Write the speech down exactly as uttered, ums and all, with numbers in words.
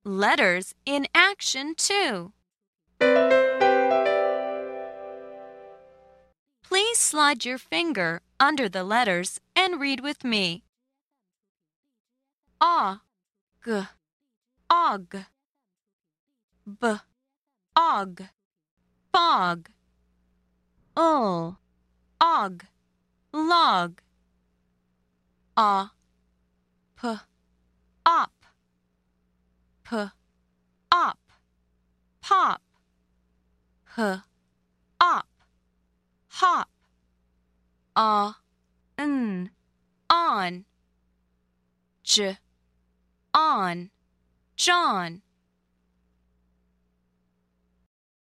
Letters in action too. Please slide your finger under the letters and read with me. Og, og, b, og, fog, ul, og, log, a, p, op, p, op, pop, h, op, hop, a, n, on, j, on, John.